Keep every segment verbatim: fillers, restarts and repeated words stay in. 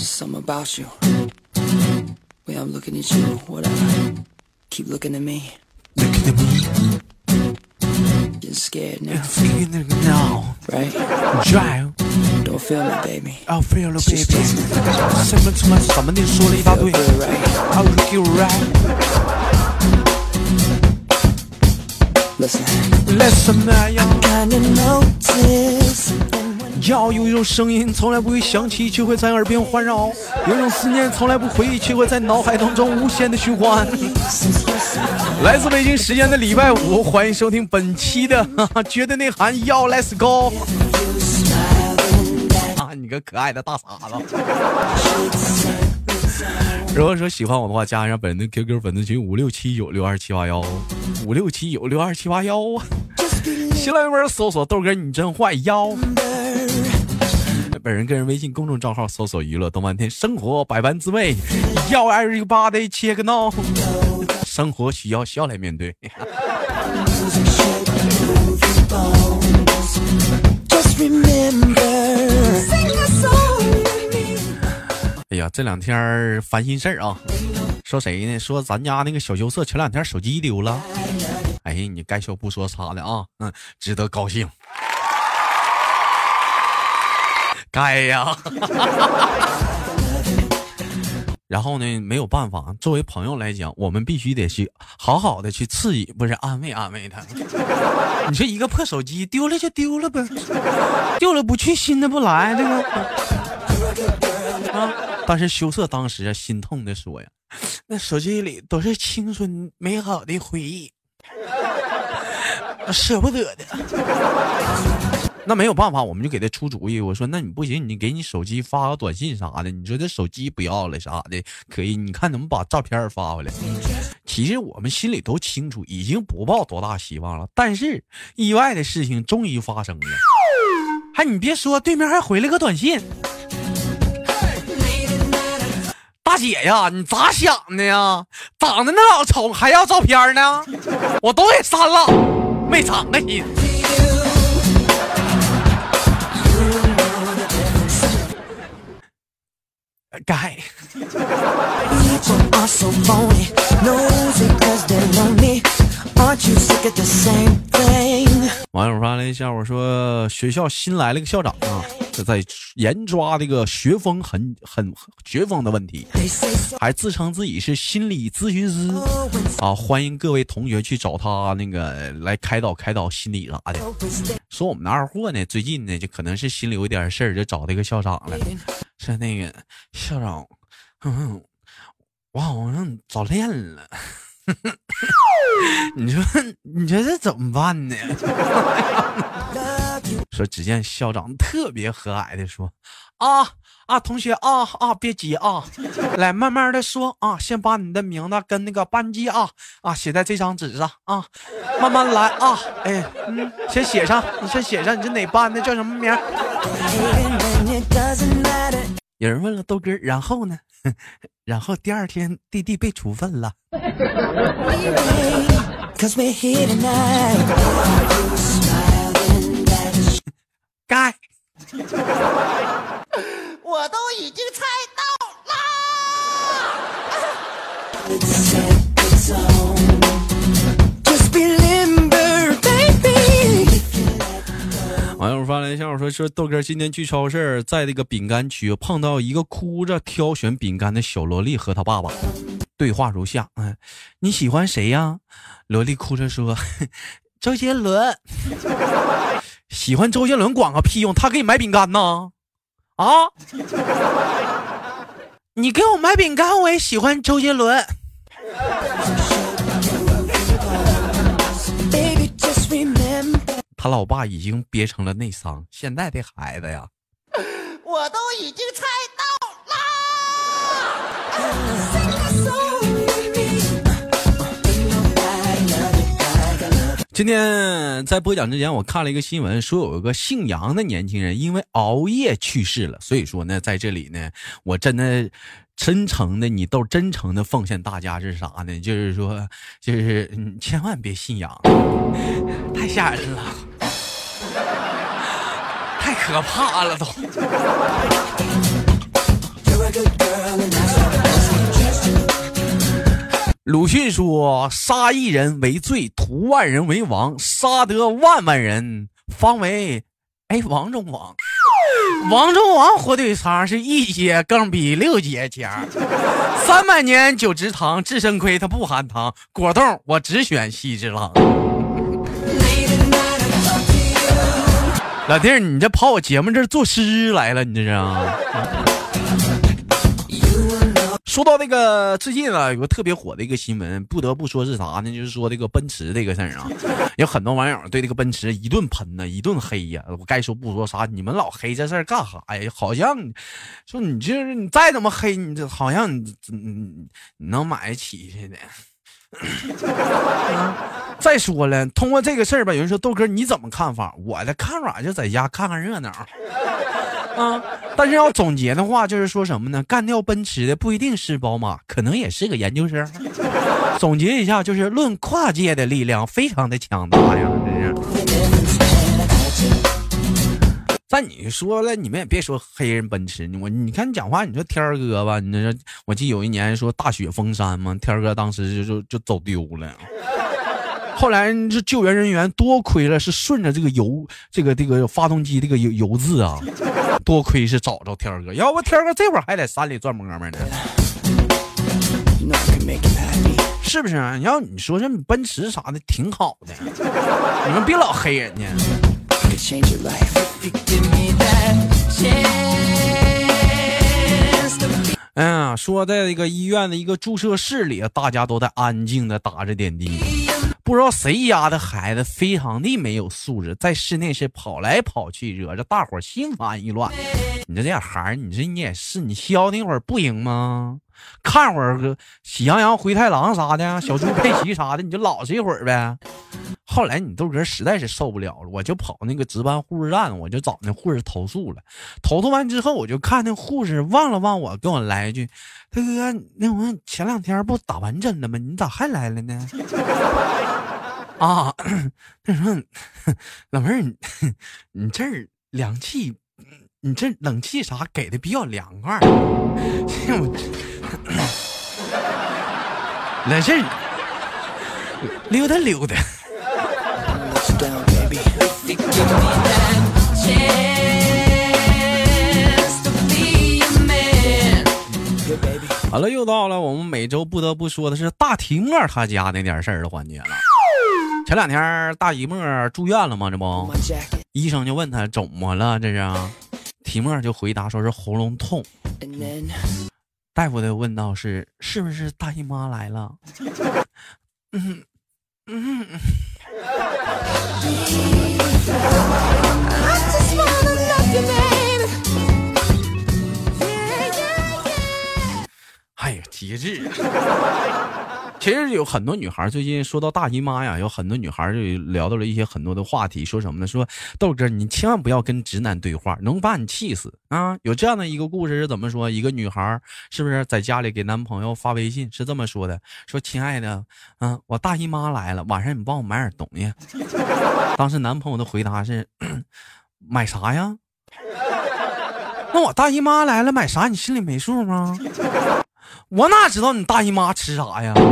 Just something about you. When I'm looking at you, whatever. Keep looking at me. Looking at me. You're scared now. Scared now. Right? Drive. Don't feel me, baby. I'll feel it, baby. 什么什么什么你说了一大堆。I'll look you right. Listen. Listen, man. Kinda notice. 要有一种声音从来不会响起，却会在耳边环绕；有一种思念从来不回忆，却会在脑海当中无限的循环。来自北京时间的礼拜五，欢迎收听本期的哈哈绝对内涵，要 Let's go 啊！你个可爱的大傻子。如果说喜欢我的话，加上本人的 Q Q 粉丝群五六七九六二七八幺，五六七九六二七八幺。新浪微博搜索豆哥你真坏妖。本人个人微信公众账号搜索娱乐动漫天，生活百般滋味，要 everybody check now， 生活需要笑来面对。哎呀，这两天烦心事儿啊！说谁呢？说咱家那个小羞涩前两天手机丢了。哎呀，你该说不说啥的啊？嗯，值得高兴。该呀。然后呢，没有办法，作为朋友来讲，我们必须得去好好的去刺激，不是安慰安慰他。你说一个破手机丢了就丢了呗，丢了不去新的不来，对吧？啊！但是羞涩当时啊，心痛的说呀，那手机里都是青春美好的回忆，舍不得的。那没有办法，我们就给他出主意。我说，那你不行，你给你手机发个短信啥的。你说这手机不要了啥的，可以？你看能不能把照片发回来？其实我们心里都清楚，已经不抱多大希望了。但是意外的事情终于发生了。还你别说，对面还回了个短信。大姐呀，你咋想的呀？长得那老丑，还要照片呢？我都给删了，没长个心。该。网友发了一下，我说学校新来了个校长啊，这在严抓这个学风很很学风的问题，还自称自己是心理咨询师啊，欢迎各位同学去找他那个来开导开导心理啥的。说我们的二货呢，最近呢就可能是心里有点事儿，就找这个校长了，是那个校长。嗯，我好像早恋了。你说你说这怎么办呢？说只见校长特别和蔼的说，啊啊同学啊啊别急啊，来慢慢的说啊，先把你的名字跟那个班级啊啊写在这张纸上啊，慢慢来啊，哎嗯，先写上，你先写上你是哪班的，叫什么名？有人问了豆哥，然后呢？然后第二天弟弟被处分了。该我都已经猜到网友发来一下，我说说豆哥今天去超市，在这个饼干区碰到一个哭着挑选饼干的小萝莉和他爸爸，对话如下：嗯，你喜欢谁呀？萝莉哭着说，周杰伦。喜欢周杰伦管个屁用，他给你买饼干呢？啊？你给我买饼干，我也喜欢周杰伦。他老爸已经憋成了内伤，现在的孩子呀， 我都已经猜到了。 今天在播讲之前，我看了一个新闻，说有一个姓杨的年轻人因为熬夜去世了。所以说呢，在这里呢，我真的真诚的，你都真诚的奉献大家是啥呢？就是说，就是嗯，千万别信仰，太吓人了。太可怕了都。 鲁迅说：“杀一人为罪，屠万人为王，杀得万万人，方为哎王中王。王中王火腿肠是一节更比六节强，三百年酒直堂，智深亏他不含糖。果冻我只选西之郎。”老弟儿，你这跑我节目这儿作诗来了，你这是啊？说到那个最近啊，有个特别火的一个新闻，不得不说是啥呢？就是说这个奔驰这个事儿啊，有很多网友对这个奔驰一顿喷呢，一顿黑呀。我该说不说啥，你们老黑这事儿干啥呀？好像说你就是你再怎么黑，你这好像你你你能买得起似的。再说了，通过这个事儿吧，有人说豆哥你怎么看法？我的看法就在家看看热闹啊。但是要总结的话，就是说什么呢？干掉奔驰的不一定是宝马，可能也是个研究生。总结一下，就是论跨界的力量非常的强大呀，真是。但你说了，你们也别说黑人奔驰，我你看你讲话，你说天儿哥吧，你说我记得有一年说大雪封山嘛，天儿哥当时就就就走丢了。后来这救援人员多亏了是顺着这个油这个这个发动机这个油油渍啊，多亏是找着天儿哥，要不天儿哥这会儿还在山里转摸摸呢，是不是啊？要你说这奔驰啥的挺好的，你们别老黑人家。哎呀，说在这个医院的一个注射室里，大家都在安静的打着点滴。不知道谁家的孩子非常的没有素质，在室内是跑来跑去，惹着大伙心烦意乱。你这这样孩儿，你这你也是，你消停会儿不行吗？看会儿个喜羊羊灰太狼啥的，小猪佩奇啥的，你就老实一会儿呗。后来你豆哥实在是受不了了，我就跑那个值班护士站，我就找那护士投诉了。投诉完之后，我就看那护士望了望我，跟我来一句：“大哥，那我前两天不打完针了吗？你咋还来了呢？”啊，他说：“老妹儿，你你这儿凉气，你这冷气啥给的比较凉快。”来这儿溜达溜达。好了，又到了我们每周不得不说的是大提莫他家那点事儿的环节了。前两天大提莫住院了吗？这不，医生就问他怎么了，这是提莫就回答说是喉咙痛。大夫的问道是是不是大姨妈来了？嗯嗯。哎呀，节制啊！其实有很多女孩最近说到大姨妈呀，有很多女孩就聊到了一些很多的话题，说什么呢？说豆哥，你千万不要跟直男对话，能把你气死啊！有这样的一个故事是怎么说？一个女孩是不是在家里给男朋友发微信，是这么说的：说亲爱的，嗯、啊，我大姨妈来了，晚上你帮我买点东西。当时男朋友的回答是：买啥呀？那我大姨妈来了，买啥？你心里没数吗？我哪知道你大姨妈吃啥呀？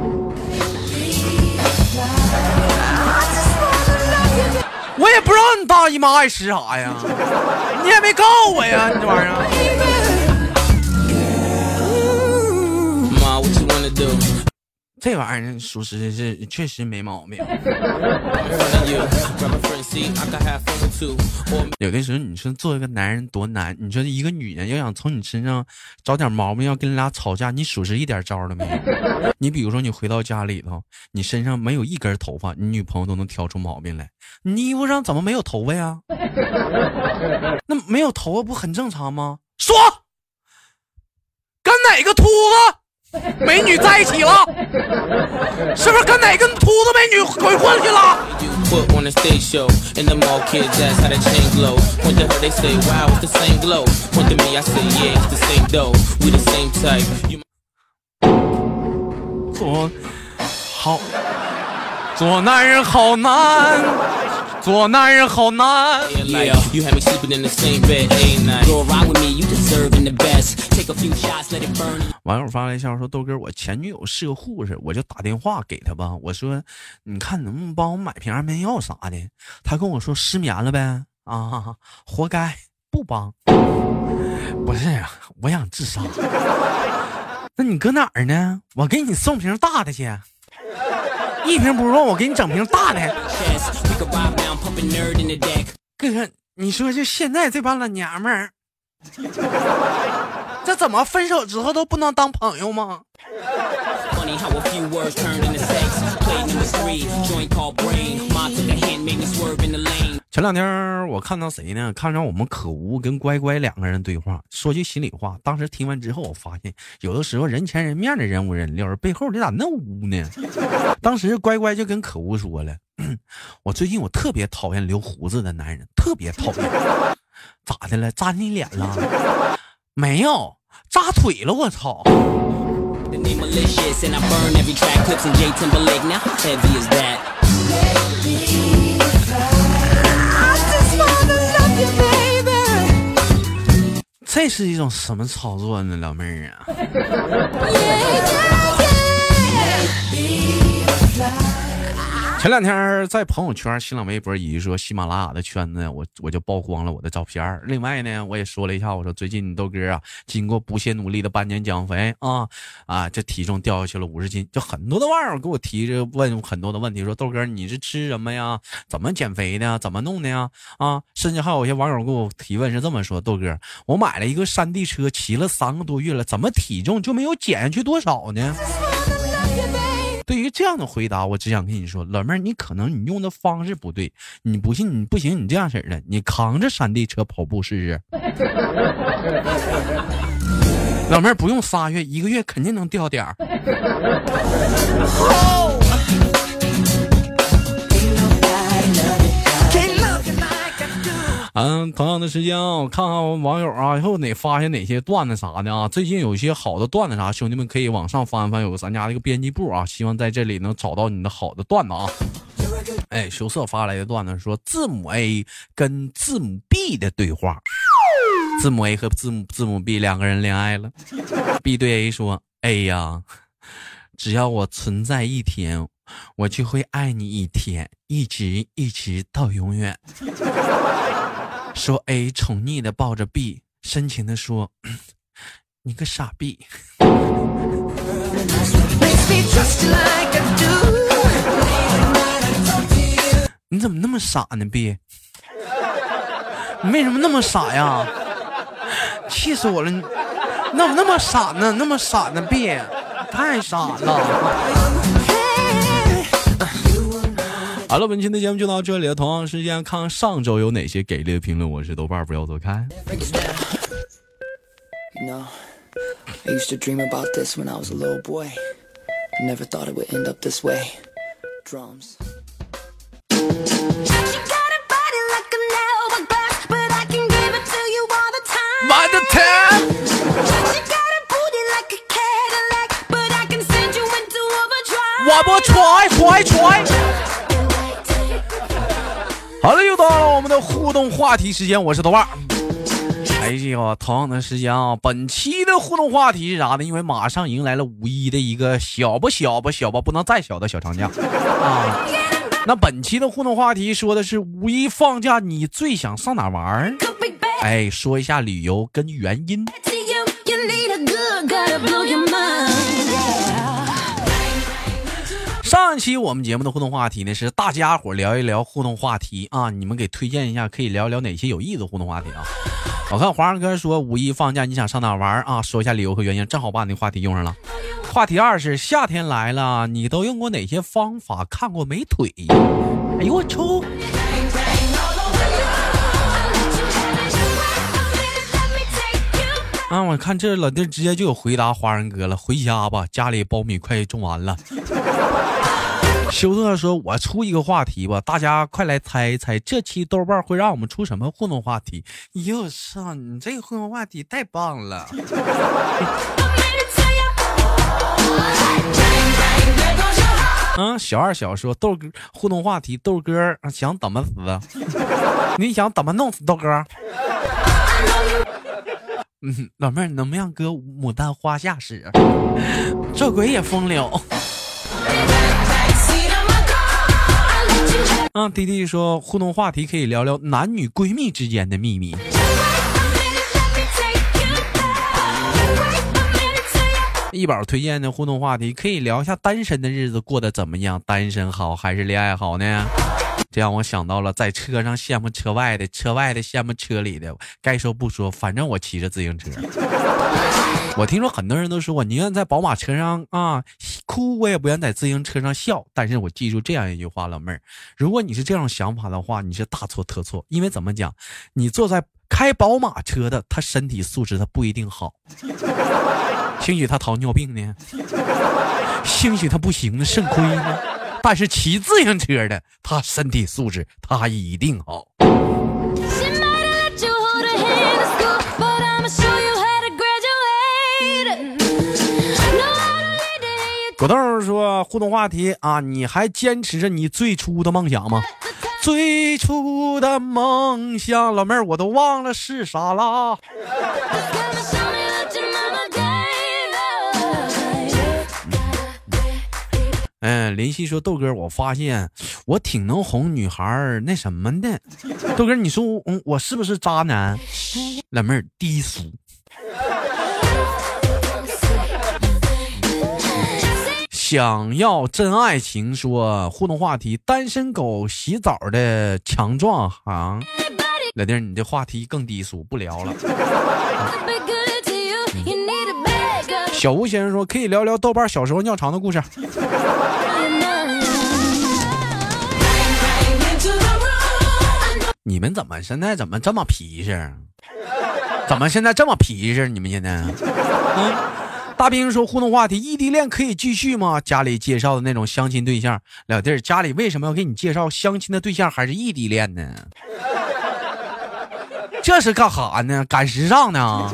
我也不知道你大姨妈爱吃啥呀，你也没告诉我呀，你这玩意儿。这玩意儿属实是确实没毛病。有的时候你说做一个男人多难，你说一个女人要想从你身上找点毛病，要跟你俩吵架，你属实一点招都没有。你比如说你回到家里头，你身上没有一根头发，你女朋友都能挑出毛病来。你衣服上怎么没有头发呀？那没有头发不很正常吗？说跟哪个秃子美女在一起了？是不是跟哪个秃子美女鬼混去了？做好做男人好难，做男人好难。Yeah, you had me sleeping in the same bed, hey night. Go ride with me, you deserving the best. Take 网友发来消息说：“豆哥，我前女友是个护士，我就打电话给她吧。我说，你看能不能帮我买瓶安眠药啥的？她跟我说失眠了呗。啊，活该，不帮。不是啊，我想自杀。那你搁哪儿呢？我给你送瓶大的去。一瓶不够，我给你整瓶大的。哥，你说就现在这帮老娘们儿。”这怎么分手之后都不能当朋友吗？前两天我看到谁呢？看到我们可无跟乖乖两个人对话。说句心里话，当时听完之后，我发现有的时候人前人面的人五人六，背后这咋那污呢？当时乖乖就跟可无说了，我最近我特别讨厌留胡子的男人，特别讨厌。咋的了？扎你脸了？没有，扎腿了，我操！这是一种什么操作呢，老妹儿啊？前两天在朋友圈、新浪微博以及说喜马拉雅的圈子，我我就曝光了我的照片。另外呢，我也说了一下，我说最近豆哥啊，经过不懈努力的半年减肥啊啊，这体重掉下去了五十斤。就很多的网友给我提着问很多的问题，说豆哥你是吃什么呀？怎么减肥的？怎么弄的呀？啊，甚至还有一些网友给我提问是这么说：豆哥，我买了一个山地车，骑了三个多月了，怎么体重就没有减下去多少呢？对于这样的回答，我只想跟你说，老妹儿，你可能你用的方式不对，你不信你不行，你这样式的，你扛着山地车跑步试试。老妹儿不用仨月，一个月肯定能掉点儿。嗯，同样的时间啊，我看看网友啊，以后哪发现哪些段子啥的啊，最近有一些好的段子啥，兄弟们可以往上翻翻，有咱家的一个编辑部啊，希望在这里能找到你的好的段子啊。哎，羞涩发来的段子说，字母 A 跟字母 B 的对话，字母 A 和字母字母 B 两个人恋爱了。B 对 A 说 ：“A 呀，只要我存在一天，我就会爱你一天，一直一直到永远。”说 A 宠溺的抱着 B， 深情的说：“你个傻逼。”你怎么那么傻呢 B？ 你为什么那么傻呀？气死我了！你那么那么傻呢？那么傻呢 B？ 太傻了。好了，本期的节目就到这里了。同样时间看看上周有哪些给力的评论。我是豆瓣，不要走开。 You know, I used to dream about this when I was a little boy. I never thought it would end up this way. Drums. My the time. One more try, try, try. 好了，又到了我们的互动话题时间，我是豆瓣。哎呀，同样的时间啊，本期的互动话题是啥呢？因为马上迎来了五一的一个小不小不小吧，不能再小的小长假啊。那本期的互动话题说的是五一放假你最想上哪玩？哎，说一下理由跟原因。上一期我们节目的互动话题呢是大家伙聊一聊互动话题啊，你们给推荐一下可以聊一聊哪些有意思的互动话题啊。我看皇上哥说五一放假你想上哪玩啊，说一下理由和原因，正好把你的话题用上了。话题二是夏天来了，你都用过哪些方法看过美腿？哎呦我抽！啊，我看这老弟直接就有回答华人哥了，回家吧，家里苞米快种完了。修特说，我出一个话题吧，大家快来猜一猜，这期豆瓣会让我们出什么互动话题？哟操，你这个互动话题太棒了。嗯，小二小说豆哥互动话题，豆哥想怎么死？你想怎么弄死豆哥？ 嗯，老妹儿，能不能让哥牡丹花下使？这鬼也风流。啊，弟弟说互动话题可以聊聊男女闺蜜之间的秘密。一宝推荐的互动话题可以聊一下单身的日子过得怎么样，单身好还是恋爱好呢？这让我想到了在车上羡慕车外的，车外的羡慕车里的。该说不说，反正我骑着自行车。我听说很多人都说我宁愿在宝马车上啊哭，我也不愿在自行车上笑。但是我记住这样一句话，老妹儿，如果你是这种想法的话，你是大错特错。因为怎么讲，你坐在开宝马车的，他身体素质他不一定好，兴许他糖尿病呢，兴许他不行呢，肾亏呢。但是骑自行车的，他身体素质他一定好。果冻说互动话题啊，你还坚持着你最初的梦想吗？最初的梦想，老妹儿我都忘了是啥啦。嗯，林夕说豆哥，我发现我挺能哄女孩那什么的。豆哥，你说我、嗯、我是不是渣男？老妹儿低俗。想要真爱情说互动话题，单身狗洗澡的强壮行。老弟儿，你这话题更低俗，不聊了。小吴先生说可以聊聊豆瓣小时候尿床的故事。你们怎么现在怎么这么皮实？怎么现在这么皮实？你们现在？嗯，大兵说互动话题，异地恋可以继续吗？家里介绍的那种相亲对象，老弟儿，家里为什么要给你介绍相亲的对象还是异地恋呢？这是干哈呢？赶时尚呢？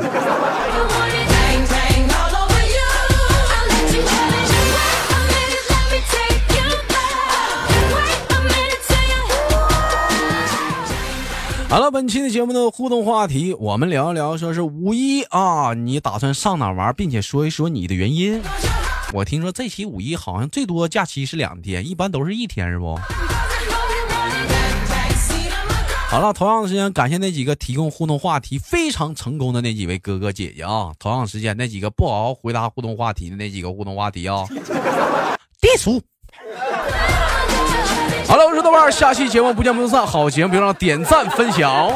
好了，本期的节目的互动话题，我们聊一聊，说是五一啊，你打算上哪玩，并且说一说你的原因。我听说这期五一好像最多假期是两天，一般都是一天，是不？好了，同样的时间，感谢那几个提供互动话题非常成功的那几位哥哥姐姐啊。同样时间，那几个不好好回答互动话题的那几个互动话题啊，低俗。好了，我是豆瓣，下期节目不见不散。好节目别忘了点赞分享。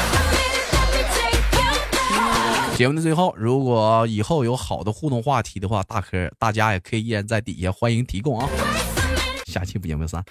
节目的最后，如果以后有好的互动话题的话，大可大家也可以依然在底下欢迎提供啊。下期不见不散。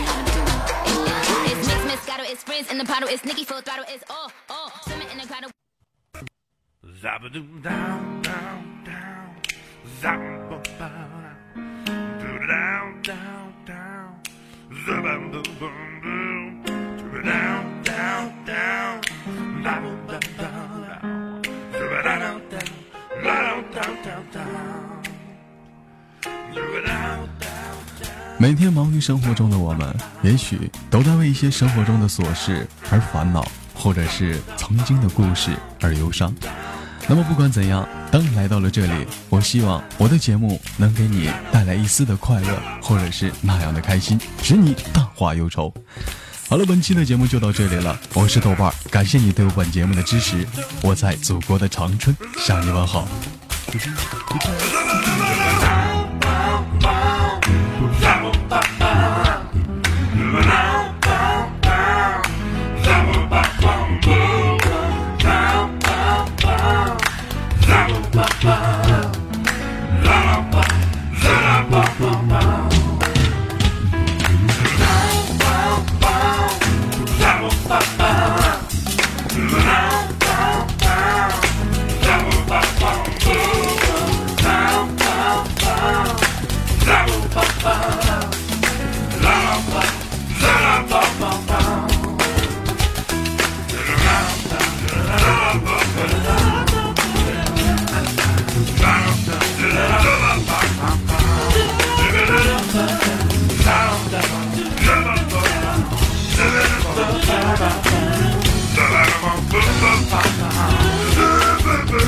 每天忙于生活中的我们，也许都在为一些生活中的琐事而烦恼，或者是曾经的故事而忧伤。那么不管怎样，当你来到了这里，我希望我的节目能给你带来一丝的快乐，或者是那样的开心，使你淡化忧愁。好了，本期的节目就到这里了，我是豆瓣，感谢你对我本节目的支持，我在祖国的长春向你问好。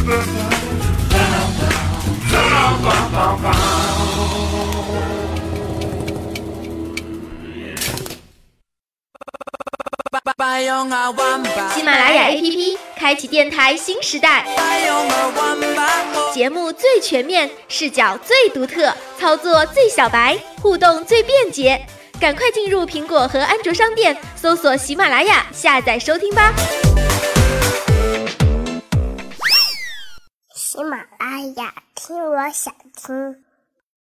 喜马拉雅 A P P 开启电台新时代，节目最全面，视角最独特，操作最小白，互动最便捷。赶快进入苹果和安卓商店，搜索喜马拉雅，下载收听吧。 喜马拉雅，听我想听。